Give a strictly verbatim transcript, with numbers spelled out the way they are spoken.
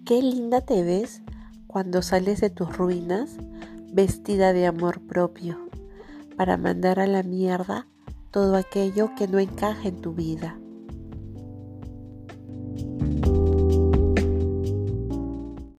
Qué linda te ves cuando sales de tus ruinas vestida de amor propio para mandar a la mierda todo aquello que no encaja en tu vida.